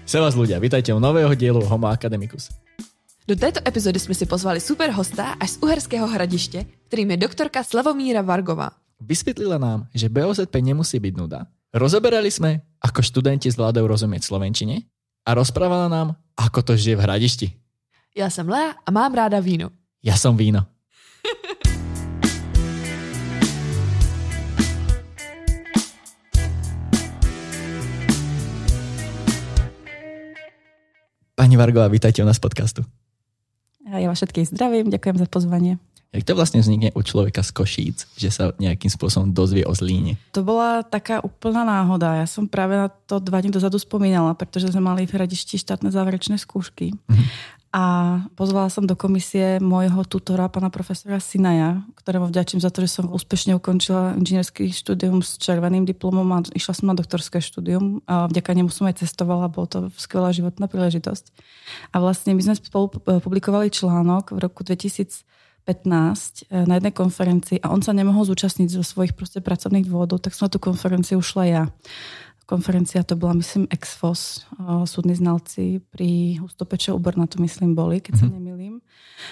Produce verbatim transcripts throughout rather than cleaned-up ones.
Servus ľudia, vítajte u nového dielu Homo Academicus. Do této epizody jsme si pozvali super hosta až z Uherského Hradiště, kterým je doktorka Slavomíra Vargová. Vysvětlila nám, že bé ó zet pé nemusí byť nuda. Rozoberali sme, ako študenti zvládajú rozumieť slovenčine a rozprávala nám, ako to žije v Hradišti. Já jsem Lea a mám ráda víno. Ja som víno. Pani Vargová, vítajte u nás v podcastu. Ja vás všetkých zdravím, ďakujem za pozvanie. Jak to vlastne vznikne u človeka z Košíc, že sa nejakým spôsobom dozvie o Zlíne? To bola taká úplná náhoda. Ja som práve na to dva dní dozadu spomínala, pretože sme mali v Hradišti štátne záverečné skúšky. Mhm. A pozvala som do komisie môjho tutora, pana profesora Sinaja, ktorému vďačím za to, že som úspešne ukončila inžinierský štúdium s červeným diplomom a išla som na doktorské štúdium. A vďaka nemu som aj cestovala, bolo to skvelá životná príležitosť. A vlastne my sme spolu publikovali článok v roku dvetisícpätnásť na jednej konferencii a on sa nemohol zúčastniť zo svojich proste pracovných dôvodov, tak som na tú konferenciu ušla ja. Konferencia to bola, myslím, ex fos, súdni znalci pri Hustopečov u Brna, to myslím boli, keď sa nemýlim.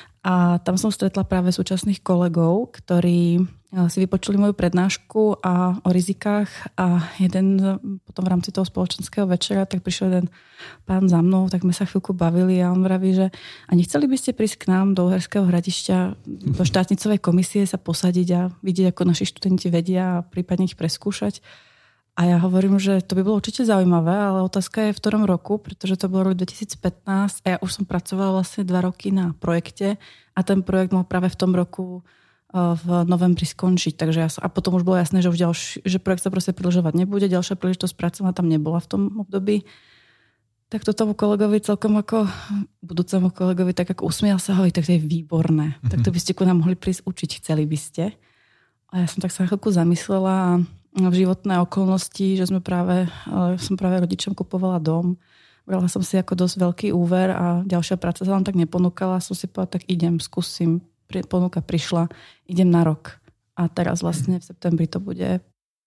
A tam som stretla práve súčasných kolegov, ktorí si vypočuli moju prednášku a o rizikách a jeden potom v rámci toho spoločenského večera, tak prišiel jeden pán za mnou, tak sme sa chvíľku bavili a on vraví, že a nechceli by ste prísť k nám do Uherského Hradišťa, do štátnicovej komisie sa posadiť a vidieť, ako naši študenti vedia a prípadne ich preskúšať. A ja hovorím, že to by bolo určite zaujímavé, ale otázka je v ktorom roku, pretože to bolo rok dvetisícpätnásť a ja už som pracovala vlastne dva roky na projekte a ten projekt mal práve v tom roku v novembri skončiť. Takže ja som, a potom už bolo jasné, že už ďalší, že projekt sa proste predĺžovať nebude, ďalšia príležitosť pracovná tam nebola v tom období. Tak to tomu kolegovi celkom ako budúcemu kolegovi tak ako usmial sa, hovorí, tak to je výborné. Mm-hmm. Tak to by ste ku nám mohli prísť učiť, chceli by ste. A ja som tak sa na chvíľku zamyslela a v životné okolnosti, že sme práve, som práve rodičom kupovala dom. Brala som si ako dosť veľký úver a ďalšia práca sa vám tak neponúkala. Som si povedala, tak idem, skúsim. Ponuka prišla, idem na rok. A teraz vlastne v septembri to bude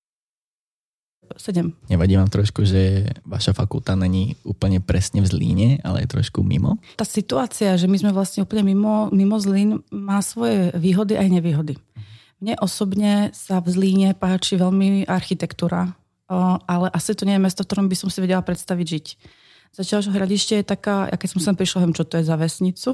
sedem. Nevadí vám trošku, že vaša fakulta není úplne presne v Zlíne, ale je trošku mimo? Tá situácia, že my sme vlastne úplne mimo, mimo Zlín, má svoje výhody aj nevýhody. Mne osobne sa v Zlíne páči veľmi architektúra, ale asi to nie je mesto, v ktorom by som si vedela predstaviť žiť. Zatiaľ, že Hradište je taká, ja keď som sem prišla, viem, čo to je za vesnicu,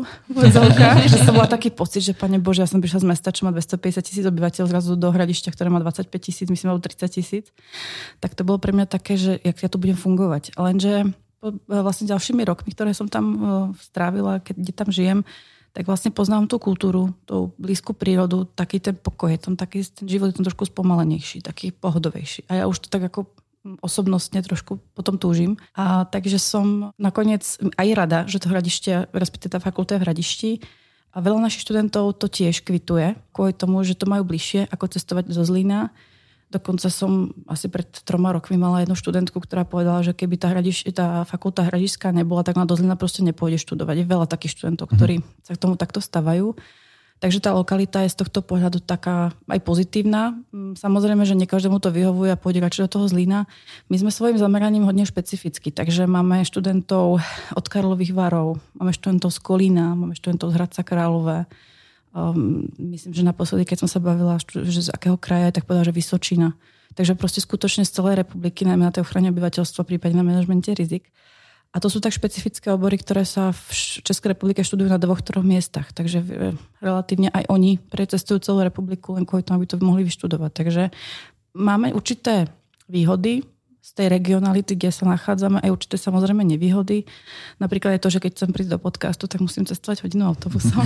že som bola taký pocit, že pane Bože, ja som prišla z mesta, čo má dvestopäťdesiat tisíc obyvateľov, zrazu do Hradišťa, ktoré má dvadsaťpäť tisíc, myslím, alebo tridsať tisíc. Tak to bolo pre mňa také, že jak ja tu budem fungovať. Lenže vlastne ďalšími rokmi, ktoré som tam strávila, keď tam žijem, tak vlastne poznám tú kultúru, tú blízku prírodu, taký ten pokoj, je tam taký, ten život je tam trošku spomalenejší, taký pohodovejší. A ja už to tak ako osobnostne trošku potom túžim. A takže som nakoniec aj rada, že to Hradište, respektíve tá fakulta je v Hradišti. A veľa našich študentov to tiež kvituje, kvôli tomu, že to majú bližšie, ako cestovať zo Zlína. Dokonca som asi pred troma rokmi mala jednu študentku, ktorá povedala, že keby tá, hradiš, tá fakulta hradišská nebola, tak na do Zlína proste nepôjde študovať. Je veľa takých študentov, ktorí sa k tomu takto stavajú. Takže tá lokalita je z tohto pohľadu taká aj pozitívna. Samozrejme, že nie každému to vyhovuje a pôjde radšej do toho Zlína. My sme svojim zameraním hodne špecificky, takže máme študentov od Karlových Varov, máme študentov z Kolína, máme študentov z Hradca Králové. Um, myslím, že naposledy, keď som sa bavila, že z akého kraja, tak povedala, že Vysočina. Takže proste skutočne z celej republiky, najmä na tej ochrane obyvateľstva, prípadne na manažmente rizik. A to sú tak špecifické obory, ktoré sa v Českej republike študujú na dvoch, troch miestach. Takže relatívne aj oni precestujú celú republiku len kvôli tomu, aby to mohli vyštudovať. Takže máme určité výhody z tej regionality, kde sa nachádzame, aj určité samozrejme nevýhody. Napríklad je to, že keď chcem prísť do podcastu, tak musím cestovať hodinu autobusom.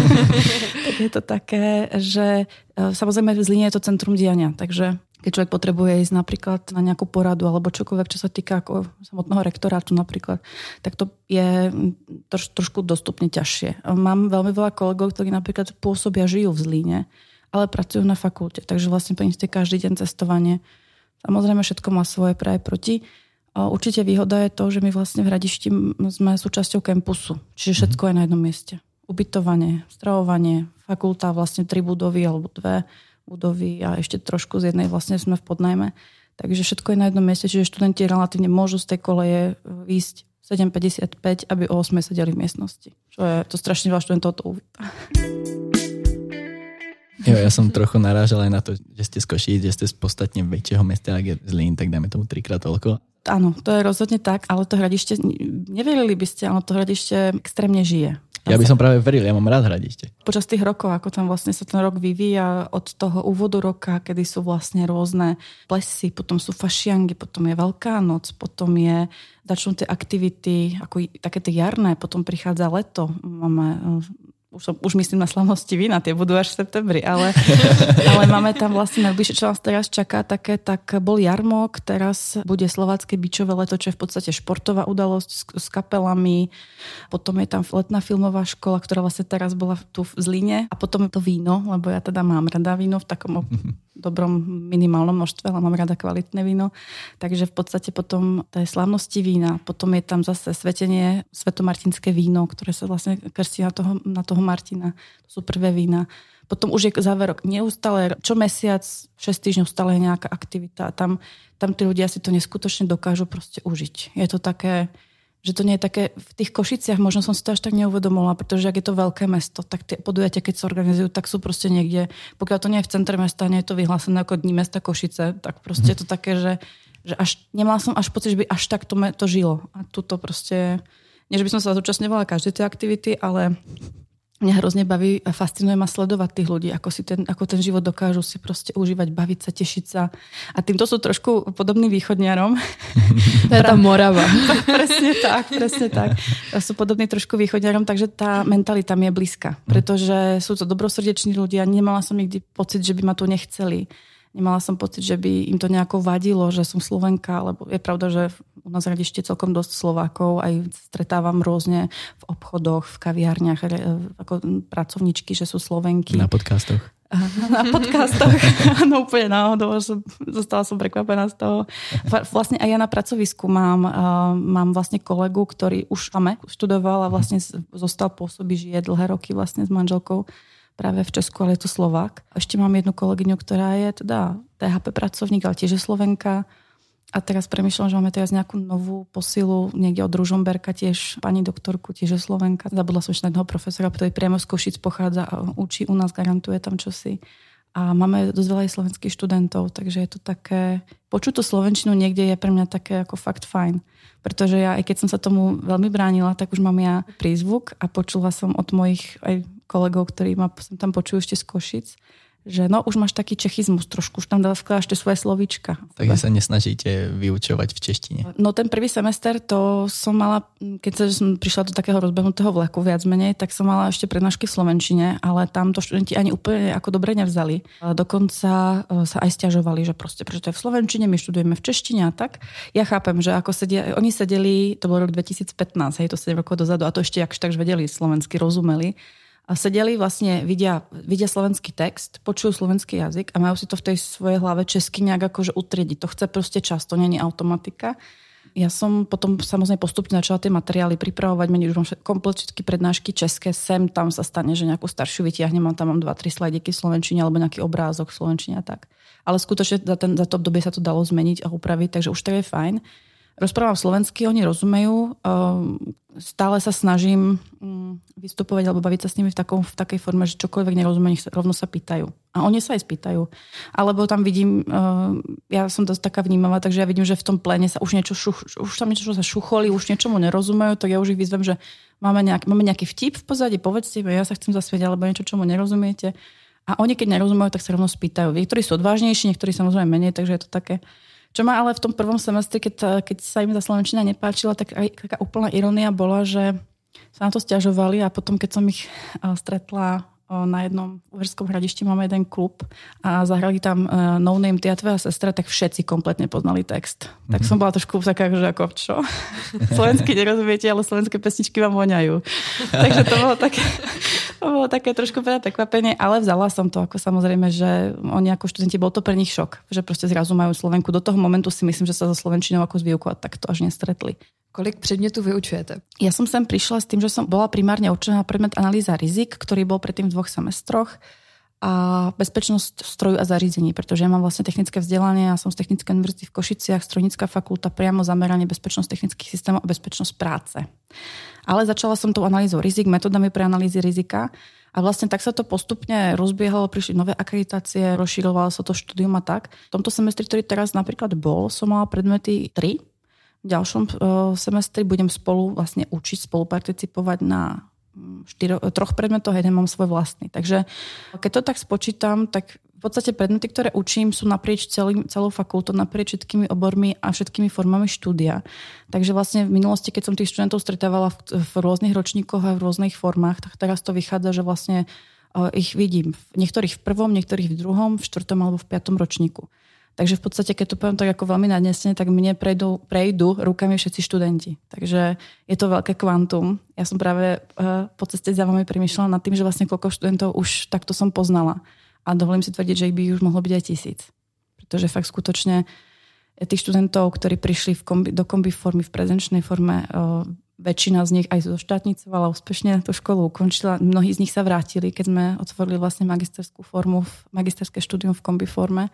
Tak je to také, že samozrejme v Zlíne je to centrum diania, takže keď človek potrebuje ísť napríklad na nejakú poradu alebo čokoľvek, čo sa týka ako samotného rektorátu napríklad, tak to je troš, trošku dostupne ťažšie. Mám veľmi veľa kolegov, ktorí napríklad pôsobia, žijú v Zlíne, ale pracujú na fakulte, takže vlastne pre nich je každý deň cestovanie. Samozrejme, všetko má svoje pre aj proti. Určite výhoda je to, že my vlastne v Hradišti sme súčasťou campusu. Čiže všetko je na jednom mieste. Ubytovanie, stravovanie, fakulta, vlastne tri budovy alebo dve budovy a ešte trošku z jednej vlastne sme v podnajme. Takže všetko je na jednom mieste, čiže študenti relatívne môžu z tej koleje výjsť sedem päťdesiatpäť, aby o osem sedeli v miestnosti. Čo je to strašne veľa študentov to uvíta. Jo, ja som trochu narážal aj na to, že ste z Košíc, že ste z podstatne väčšieho mesta, ak je Zlín, tak dáme tomu trikrát toľko. Áno, to je rozhodne tak, ale to Hradište, neverili by ste, ale to Hradište extrémne žije. Ja by som práve veril, ja mám rád Hradište. Počas tých rokov, ako tam vlastne sa ten rok vyvíja od toho úvodu roka, kedy sú vlastne rôzne plesy, potom sú fašiangy, potom je Veľká noc, potom je, začnú tie aktivity, ako také tie jarné, potom prichádza leto, máme... Už, som, už myslím na slavnosti vína, tie budú až v septembri, ale, ale máme tam vlastne najbližšie, čo nás teraz čaká, také, tak bol jarmok, teraz bude slovácké bičové leto, čo je v podstate športová udalosť s, s kapelami, potom je tam letná filmová škola, ktorá vlastne teraz bola tu v Zlíne a potom to víno, lebo ja teda mám rada víno v takom dobrom minimálnom množstve, ale mám rada kvalitné víno, takže v podstate potom to je slávnosti vína, potom je tam zase svetenie, svetomartinské víno, ktoré sa vlastne krstí na toho, na toho Martina. To sú prvé vína. Potom už je záverok neustále, čo mesiac, šesť týždňov stále je nejaká aktivita. Tam, tam tí ľudia si to neskutočne dokážu proste užiť. Je to také, že to nie je také, v tých Košiciach možno som si to až tak neuvedomovala, pretože ak je to veľké mesto, tak tie podujatia, keď sa organizujú, tak sú proste niekde, pokiaľ to nie je v centre mesta, nie je to vyhlásené ako Dní mesta Košice, tak proste je to také, že, že až, nemala som až pocit, že by až tak to, to žilo. A tuto proste, nie že by som sa zúčastňovala každej tej aktivity, ale mňa hrozne baví a fascinuje ma sledovať tých ľudí, ako, si ten, ako ten život dokážu si proste užívať, baviť sa, tešiť sa. A týmto sú trošku podobní východňarom. To je tá Morava. Presne tak, presne tak. Sú podobní trošku východňarom, takže tá mentalita mi je blízka. Pretože sú to dobrosrdeční ľudia. Nemala som nikdy pocit, že by ma tu nechceli. Nemala som pocit, že by im to nejako vadilo, že som Slovenka, lebo je pravda, že u nás v Hradište celkom dosť Slovákov, aj stretávam rôzne v obchodoch, v kaviárniach, ako pracovničky, že sú Slovenky. Na podcastoch. Na podcastoch, no úplne náhodou, som, zostala som prekvapená z toho. Vlastne aj ja na pracovisku mám, mám vlastne kolegu, ktorý už máme, študoval a vlastne zostal pôsobí, žije dlhé roky vlastne s manželkou práve v Česku, ale je to Slovák. Ešte mám jednu kolegyňu, ktorá je teda té há pé pracovník, ale tiež je Slovenka. A teraz premýšľam, že máme teraz nejakú novú posilu niekde od Ružomberka, tiež pani doktorku, tiež je Slovenka. Zabudla som ešte na jedného profesora, ktorý priamo z Košíc pochádza a učí u nás, garantuje tam čosi. A máme dosť veľa aj slovenských študentov, takže je to také... Počuť tú slovenčinu niekde je pre mňa také ako fakt fajn. Pretože ja, aj keď som sa tomu veľmi bránila, tak už mám ja prízvuk a počula som od mojich aj kolegov, ktorí ma sem tam počujú ešte z Košic, že no už máš taký čechizmus trošku, už tam vkladáš tie svoje slovíčka. Takže sa nesnažíte vyučovať v češtine? No ten prvý semester to som mala, keď sa, som prišla do takého rozbehnutého vleku viac menej, tak som mala ešte prednášky v slovenčine, ale tam to študenti ani úplne ako dobre nevzali. Dokonca sa aj sťažovali, že proste, pretože to je v slovenčine, my študujeme v češtine a tak. Ja chápem, že ako sedia, oni sedeli, to bol rok dvetisícpätnásť, hej, to sedem rokov dozadu, a to ešte jakž takž vedeli slovensky, rozumeli. A sedeli vlastne, vidia, vidia slovenský text, počujú slovenský jazyk a majú si to v tej svojej hlave česky nejak akože utriediť. To chce proste čas, to nie je automatika. Ja som potom samozrejme postupne začala tie materiály pripravovať, meniť už mám komplet všetky prednášky české, sem tam sa stane, že nejakú staršiu vytiahnem, tam mám dva tri slajdiky v slovenčine alebo nejaký obrázok v slovenčine a tak. Ale skutočne za, ten, za to obdobie sa to dalo zmeniť a upraviť, takže už to je fajn. Rozprávam slovensky, oni rozumejú. Stále sa snažím vystupovať alebo baviť sa s nimi v, takom, v takej forme, že čokoľvek nerozumie, nech rovno sa pýtajú. A oni sa aj spýtajú. Alebo tam vidím, ja som dosť taká vnímavá, takže ja vidím, že v tom pléne sa už niečo šuch, už tam niečo sa šucholi, už niečomu nerozumejú, tak ja už ich vyzvem, že máme nejaký, máme nejaký vtip v pozadí, povedzte mi, ja sa chcem zasmieť, alebo niečo, čomu nerozumiete. A oni, keď nerozumejú, tak sa rovno spýtajú. Niektorí sú odvážnejší, niektorí samozrejme menej, takže je to také. Čo ma ale v tom prvom semestri, keď, keď sa im tá slovenčina nepáčila, tak aj taká úplná irónia bola, že sa na to sťažovali a potom, keď som ich stretla na jednom uherskom Hradišti, máme jeden klub a zahrali tam No Name, Ty a tvoja sestra, tak všetci kompletne poznali text. Mm-hmm. Tak som bola trošku taká, že ako čo? Slovensky nerozumiete, ale slovenské pesničky vám voňajú. Takže to bolo také... To bolo také trošku prekvapenie, ale vzala som to ako samozrejme, že oni ako študenti, bol to pre nich šok, že proste zrazu majú Slovenku. Do toho momentu si myslím, že sa so slovenčinou ako s výukou tak to až nestretli. Kolik predmetov vyučujete? Ja som sem prišla s tým, že som bola primárne určená na predmet analýza rizik, ktorý bol predtým v dvoch semestroch a bezpečnosť stroju a zariadení, pretože ja mám vlastne technické vzdelanie, ja som z Technickej univerzity v Košiciach, strojnícka fakulta, priamo zameranie bezpečnosť technických systémov a bezpečnosť práce. Ale začala som tou analýzou rizik, metodami pre analýzy rizika a vlastne tak sa to postupne rozbiehalo, prišli nové akreditácie, rozširovalo sa to štúdium a tak. V tomto semestri, ktorý teraz napríklad bol, som mala predmety tri. V ďalšom semestri budem spolu vlastne učiť, spoluparticipovať na štyro, troch predmetoch, jeden mám svoj vlastný. Takže keď to tak spočítam, tak v podstate predmety, ktoré učím, sú naprieč celý, celou fakultou, naprieč všetkými obormi a všetkými formami štúdia. Takže vlastne v minulosti, keď som tých študentov stretávala v, v rôznych ročníkoch a v rôznych formách, tak teraz to vychádza, že vlastne ich vidím. Niektorých v prvom, niektorých v druhom, v štvrtom alebo v piatom ročníku. Takže v podstate, keď to poviem tak ako veľmi nadnesne, tak mne prejdú, prejdú rukami všetci študenti. Takže je to veľké kvantum. Ja som práve uh, po ceste za vami premýšľala nad tým, že vlastne koľko študentov už takto som poznala. A dovolím si tvrdiť, že ich by už mohlo byť aj tisíc. Pretože fakt skutočne tých študentov, ktorí prišli v kombi, do kombi formy, v prezenčnej forme, uh, väčšina z nich aj zo štátnicovala, úspešne tú školu ukončila. Mnohí z nich sa vrátili, keď sme otvorili vlastne magisterskú formu, magisterské štúdium v kombi forme.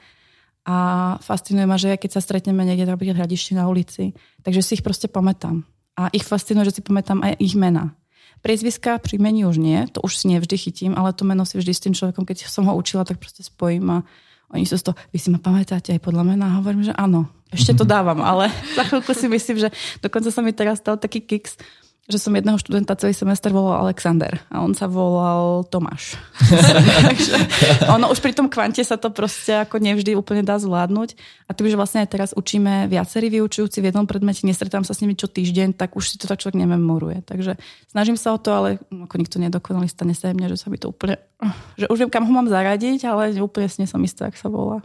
A fascinuje ma, že keď sa stretneme niekde na hradišti na ulici, takže si ich proste pamätám. A ich fascinuje, že si pamätám aj ich mená. Priezviská, príjmení už nie, to už si nevždy chytím, ale to meno si vždy s tým človekom, keď som ho učila, tak proste spojím a oni sú z toho, vy si ma pamätáte aj podľa mena? A hovorím, že áno, ešte to dávam, ale za chvíľku si myslím, že dokonca sa mi teraz stal taký kiks, že som jedného študenta celý semester volal Alexander a on sa volal Tomáš. Takže ono už pri tom kvante sa to proste ako nevždy úplne dá zvládnuť. A tým, že vlastne aj teraz učíme viacerí vyučujúci v jednom predmete, nestretám sa s nimi čo týždeň, tak už si to tak človek nememoruje. Takže snažím sa o to, ale ako nikto nedokonalý, stane sa mne, že sa mi to úplne, že už viem, kam ho mám zaradiť, ale úplne si nie som istá, jak sa volá.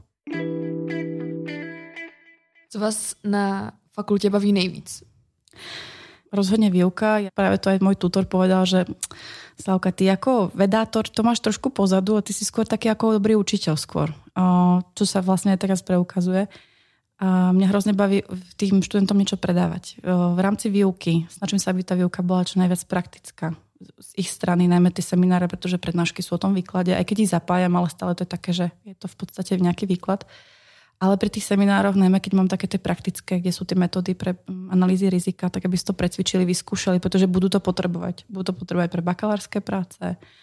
Co vás na fakultě baví nejvíc? Rozhodne výuka. Práve to aj môj tutor povedal, že Slavka, ty ako vedátor to máš trošku pozadu a ty si skôr taký ako dobrý učiteľ skôr. Čo sa vlastne aj teraz preukazuje. A mňa hrozne baví tým študentom niečo predávať. V rámci výuky snažím sa, aby tá výuka bola čo najviac praktická. Z ich strany, najmä tie semináre, pretože prednášky sú o tom výklade. Aj keď ich zapájam, ale stále to je také, že je to v podstate nejaký výklad. Ale pri tých seminároch, najmä keď mám také tie praktické, kde sú tie metódy pre analýzy rizika, tak aby si to precvičili, vyskúšali, pretože budú to potrebovať. Budú to potrebovať pre bakalárske práce,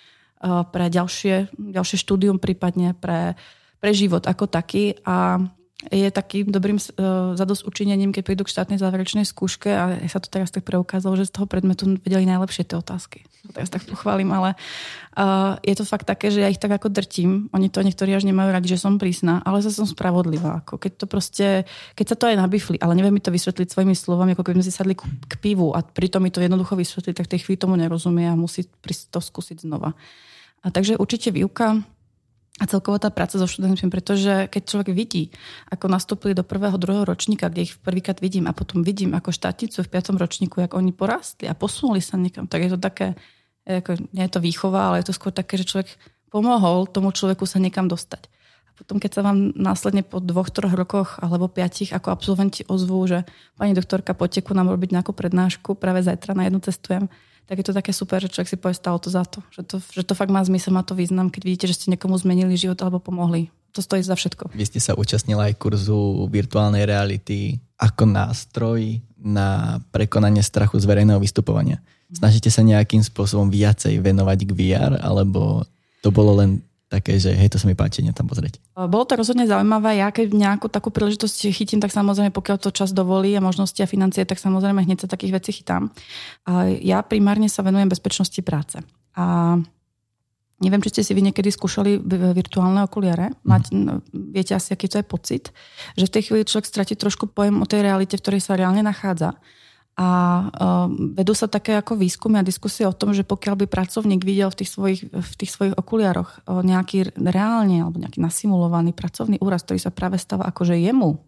pre ďalšie, ďalšie štúdium, prípadne pre, pre život ako taký. A je takým dobrým uh, zadosťučinením, keď prídu k štátnej záverečnej skúške a sa to teraz tak preukázalo, že z toho predmetu vedeli najlepšie tie otázky. Teraz tak pochválim, ale uh, je to fakt také, že ja ich tak ako drtím. Oni to niektorí až nemajú radi, že som prísna, ale zase som spravodlivá. Ako keď to proste, keď sa to aj nabifli, ale neviem mi to vysvetliť svojimi slovami, ako keby sme si sadli k, k pivu a pritom mi to jednoducho vysvetliť, tak tej chvíli tomu nerozumie a musí to skúsiť znova. A takže určite výuka a celková tá práca so študentmi, pretože keď človek vidí, ako nastúpili do prvého, druhého ročníka, kde ich prvýkrát vidím a potom vidím ako štátnicu v piatom ročníku, jak oni porastli a posunuli sa niekam, tak je to také, ako, nie je to výchova, ale je to skôr také, že človek pomohol tomu človeku sa niekam dostať. A potom, keď sa vám následne po dvoch, troch rokoch alebo piatich ako absolventi ozvú, že pani doktorka, poďte ku nám robiť nejakú prednášku, práve zajtra na jednu cestujem, tak je to také super, že človek si povie, stalo to za to. Že to, že to fakt má zmysel, má to význam, keď vidíte, že ste niekomu zmenili život alebo pomohli. To stojí za všetko. Vy ste sa účastnila aj kurzu virtuálnej reality ako nástroj na prekonanie strachu z verejného vystupovania. Snažíte sa nejakým spôsobom viacej venovať k vé er, alebo to bolo len také, že hej, to sa mi páči, tam pozrieť. Bolo to rozhodne zaujímavé. Ja keď nejakú takú príležitosť chytím, tak samozrejme, pokiaľ to čas dovolí a možnosti a financie, tak samozrejme hneď sa takých vecí chytám. A ja primárne sa venujem bezpečnosti práce. A neviem, či ste si vy niekedy skúšali virtuálne okuliare. Mať, no, viete asi, aký to je pocit, že v tej chvíli človek stratí trošku pojem o tej realite, v ktorej sa reálne nachádza. A uh, vedú sa také ako výskumy a diskusie o tom, že pokiaľ by pracovník videl v tých svojich, v tých svojich okuliároch uh, nejaký reálne alebo nejaký nasimulovaný pracovný úraz, ktorý sa práve stáva akože jemu,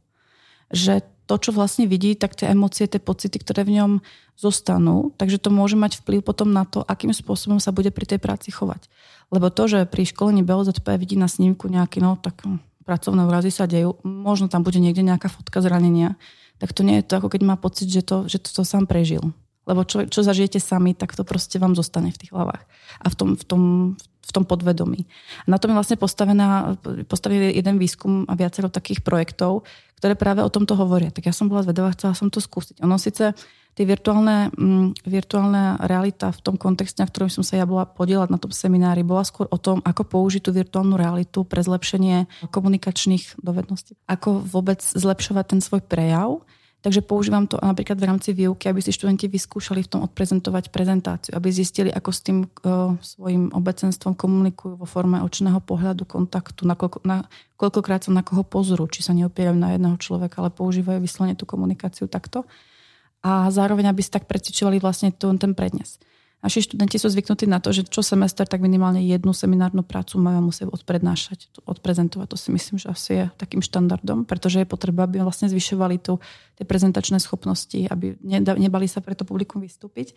že to, čo vlastne vidí, tak tie emócie, tie pocity, ktoré v ňom zostanú, takže to môže mať vplyv potom na to, akým spôsobom sa bude pri tej práci chovať. Lebo to, že pri školení bé ó zet pé vidí na snímku nejaký, no tak pracovné úrazy sa dejú, možno tam bude niekde nejaká fotka zranenia, tak to nie je to, ako keď má pocit, že to, že to, to sám prežil. Lebo čo, čo zažijete sami, tak to proste vám zostane v tých hlavách. A v tom, v tom, v v tom podvedomí. A na tom je vlastne postavená, postavený jeden výskum a viacero takých projektov, ktoré práve o tomto hovoria. Tak ja som bola zvedavá, chcela som to skúsiť. Ono síce tie virtuálne, mm, virtuálna realita v tom kontexte, na ktorom som sa ja bola podielať na tom seminári, bola skôr o tom, ako použiť tú virtuálnu realitu pre zlepšenie komunikačných dovedností. Ako vôbec zlepšovať ten svoj prejav. Takže používam to napríklad v rámci výuky, aby si študenti vyskúšali v tom odprezentovať prezentáciu, aby zistili, ako s tým uh, svojim obecenstvom komunikujú vo forme očného pohľadu, kontaktu, na, koľko, na koľkokrát sa na koho pozrú, či sa neopierajú na jedného človeka, ale používajú vyslovene tú komunikáciu takto. A zároveň, aby si tak precvičovali vlastne ten prednes. Naši študenti sú zvyknutí na to, že čo semester, tak minimálne jednu seminárnu prácu majú a musia odprednášať, odprezentovať. To si myslím, že asi je takým štandardom, pretože je potreba, aby vlastne zvyšovali tu tie prezentačné schopnosti, aby nebali sa pre to publikum vystúpiť.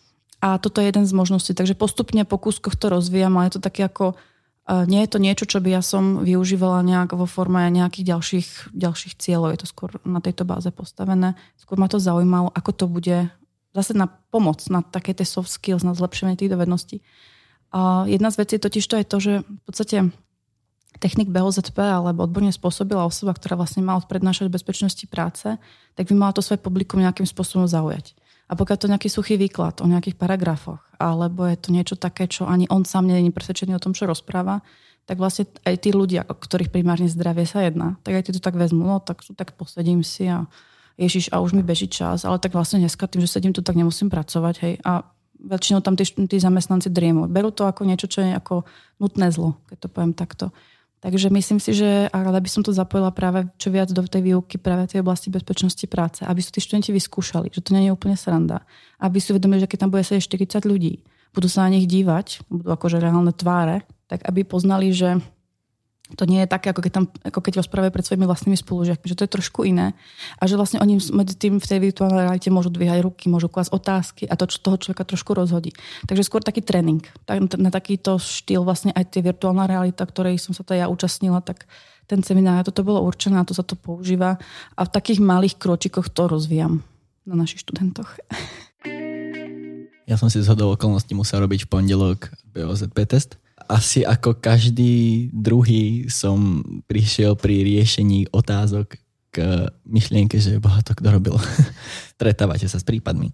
A toto je jeden z možností. Takže postupne po kúskoch to rozvíjam, ale je to také ako, nie je to niečo, čo by ja som využívala nejak vo forme nejakých ďalších, ďalších cieľov. Je to skôr na tejto báze postavené. Skôr ma to zaujímalo, ako to bude zase na pomoc, na také tie soft skills, na zlepšenie tých dovedností. A jedna z vecí totiž to je to, že v podstate technik bé ó zet pé alebo odborne spôsobila osoba, ktorá vlastne má odprednášať bezpečnosti práce, tak by mala to svoje publikum nejakým spôsobom zaujať. A pokiaľ to nejaký suchý výklad o nejakých paragrafoch, alebo je to niečo také, čo ani on sám nie je presvedčený o tom, čo rozpráva, tak vlastne aj tí ľudia, o ktorých primárne zdravie sa jedná, tak aj tí to tak vezmú, no tak, tak posedím si a Ježiš, a už mi beží čas, ale tak vlastne dneska tým, že sedím tu, tak nemusím pracovať, hej. A väčšinou tam tí, tí zamestnanci driemu. Berú to ako niečo, čo je ako nutné zlo, keď to poviem takto. Takže myslím si, že rada by som to zapojila práve čo viac do tej výuky, práve tej oblasti bezpečnosti práce, aby sú tí študenti vyskúšali, že to nie je úplne sranda. Aby si uvedomili, že keď tam bude sedieť štyridsať ľudí, budú sa na nich dívať, budú akože reálne tváre, tak aby poznali, že to nie je také, ako keď, tam, ako keď rozprávajú pred svojimi vlastnými spolužiakmi, že to je trošku iné. A že vlastne oni medzi tým v tej virtuálnej realite môžu dvíhať ruky, môžu klásť otázky a to, čo toho človeka trošku rozhodí. Takže skôr taký tréning. Na takýto štýl vlastne aj tie virtuálna realita, ktorej som sa to ja účastnila, tak ten seminár, toto bolo určené, a to sa to používa. A v takých malých kročikoch to rozvíjam na našich študentoch. Ja som si zhodol okolností musel robiť v pondelok bé ó zet pé test. Asi ako každý druhý som prišiel pri riešení otázok k myšlienke, že boha, to kto robil. Stretávate sa s prípadmi,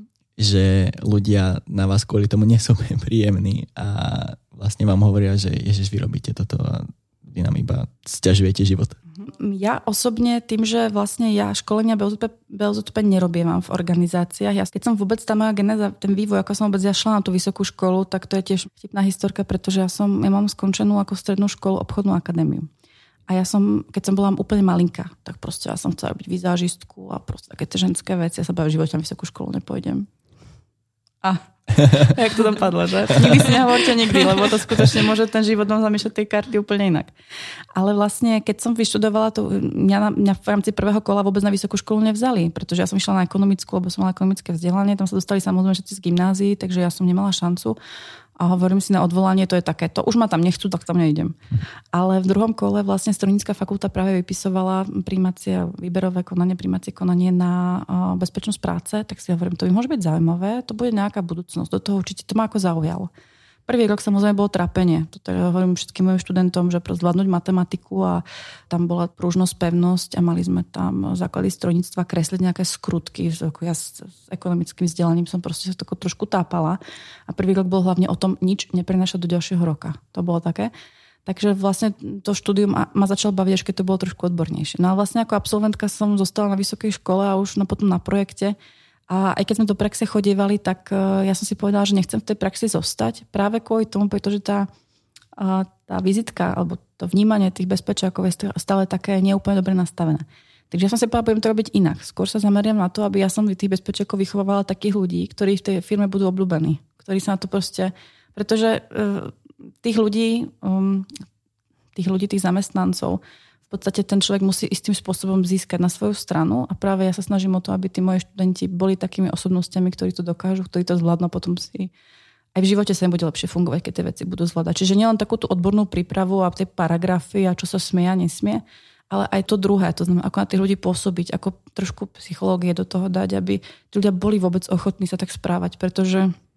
že ľudia na vás kvôli tomu nie sú príjemní a vlastne vám hovoria, že ježiš, vy robíte toto a vy nám iba sťažujete život. Ja osobne tým, že vlastne ja školenia bé ó zet pé nerobievam v organizáciách. Ja, keď som vôbec tá moja genéza, ten vývoj, ako som vôbec ja šla na tú vysokú školu, tak to je tiež vtipná historka, pretože ja som, ja mám skončenú ako strednú školu obchodnú akadémiu. A ja som, keď som bola úplne malinká, tak proste ja som chcela robiť vizážistku a proste také tie ženské veci. Ja sa bavím, v živote na vysokú školu nepôjdem. A jak to tam padlo, že? Nikdy si nehovorte nikdy, lebo to skutočne môže ten život nám zamiešať tej karty úplne inak. Ale vlastne, keď som vyštudovala, to mňa, mňa v rámci prvého kola vôbec na vysokú školu nevzali, pretože ja som išla na ekonomickú, lebo som mala ekonomické vzdelanie, tam sa dostali samozrejme všetci z gymnázií, takže ja som nemala šancu. A hovorím si na odvolanie, to je také, to už ma tam nechcú, tak tam nejdem. Ale v druhom kole vlastne Strojnícka fakulta práve vypisovala prijímacie, výberové konanie, prijímacie konanie na bezpečnosť práce, tak si hovorím, to by môže byť zaujímavé, to bude nejaká budúcnosť, do toho určite to ma ako zaujalo. Prvý rok samozrejme bolo trápenie. Toto ja hovorím všetkým mojim študentom, že pro zvládnuť matematiku a tam bola pružnosť, pevnosť a mali sme tam základy strojníctva, kresliť nejaké skrutky. Ja s, s ekonomickým vzdelaním som proste sa tako trošku tápala. A prvý rok bol hlavne o tom nič neprenášať do ďalšieho roka. To bolo také. Takže vlastne to štúdium ma začalo baviť, až keď to bolo trošku odbornejšie. No a vlastne ako absolventka som zostala na vysokej škole a už no, potom na projekte. A aj keď sme do praxe chodievali, tak ja som si povedala, že nechcem v tej praxi zostať. Práve kvôli tomu, pretože tá, tá vizitka alebo to vnímanie tých bezpečiakov je stále také neúplne dobre nastavené. Takže ja som si povedala, budem to robiť inak. Skôr sa zameriam na to, aby ja som tých bezpečiakov vychovávala takých ľudí, ktorí v tej firme budú obľúbení. Ktorí sa na to proste... Pretože tých ľudí, tých ľudí, tých zamestnancov, v podstate ten človek musí istým spôsobom získať na svoju stranu a práve ja sa snažím o to, aby tí moji študenti boli takými osobnostiami, ktorí to dokážu, ktorí to zvládnu, potom si aj v živote sa im bude lepšie fungovať, keď tie veci budú zvládať. Čiže nielen takú tú odbornú prípravu a tie paragrafy a čo sa smie a nesmie, ale aj to druhé, to znamená, ako na tých ľudí pôsobiť, ako trošku psychológie do toho dať, aby tí ľudia boli vôbec ochotní sa tak správať, pretože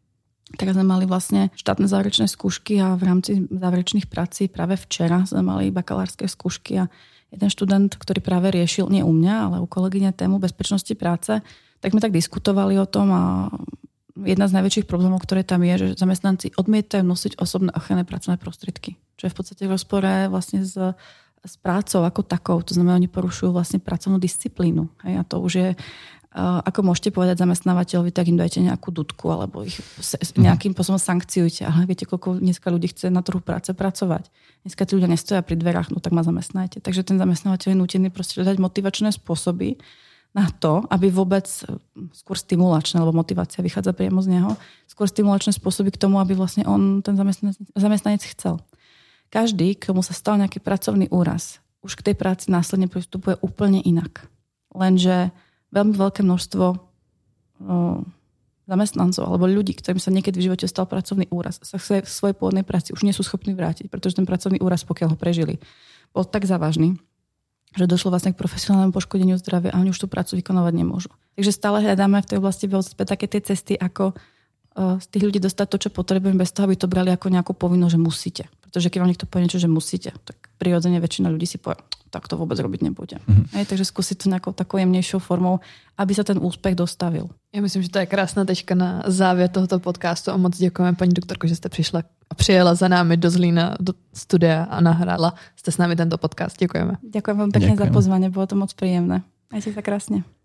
tak sme mali vlastne štátne záverečné skúšky a v rámci záverečných prací práve včera sme mali bakalárske skúšky a jeden študent, ktorý práve riešil, nie u mňa, ale u kolegyne tému bezpečnosti práce, tak sme tak diskutovali o tom a jedna z najväčších problémov, ktoré tam je, že zamestnanci odmietajú nosiť osobné ochranné pracovné prostriedky, čo je v podstate v rozpore vlastne s, s prácou ako takou. To znamená, oni porušujú vlastne pracovnú disciplínu. Hej? A to už je ako môžete povedať zamestnávateľovi, tak im dajte nejakú dudku alebo ich nejakým spôsobom sankciujte. Ale viete, koľko dneska ľudí chce na trhu práce pracovať. Dneska tí ľudia nestoja pri dverách, no tak ma zamestnajte. Takže ten zamestnávateľ je nútený proste dať motivačné spôsoby na to, aby vôbec skôr stimulačné, lebo motivácia vychádza priamo z neho, skôr stimulačné spôsoby k tomu, aby vlastne on ten zamestnanec, zamestnanec chcel. Každý, komu sa stal nejaký pracovný úraz, už k tej práci následne pristupuje úplne inak. Lenže veľmi veľké množstvo o, zamestnancov alebo ľudí, ktorým sa niekedy v živote stal pracovný úraz, sa v svojej pôvodnej práci už nie sú schopní vrátiť, pretože ten pracovný úraz, pokiaľ ho prežili, bol tak závažný, že došlo vlastne k profesionálnemu poškodeniu zdravia a oni už tú prácu vykonávať nemôžu. Takže stále hľadáme v tej oblasti také tie cesty, ako z tých ľudí dostať to, čo potrebujeme, bez toho, aby to brali ako nejakú povinnosť, že musíte. Pretože keď vám niekto povie niečo, že musíte, tak prirodzene väčšina ľudí si povie, tak to vôbec robiť nebudem. Mm-hmm. Hej, takže skúsiť to nejakou takou jemnejšou formou, aby sa ten úspech dostavil. Já myslím, že to je krásná tečka na závěr tohoto podcastu a moc děkujeme, paní doktorko, že jste přišla a přijela za námi do Zlína, do studia a nahrála jste s námi tento podcast. Děkujeme. Ďakujem vám pekne Ďakujem. za pozvanie, bolo to moc príjemné. Majte sa krásne.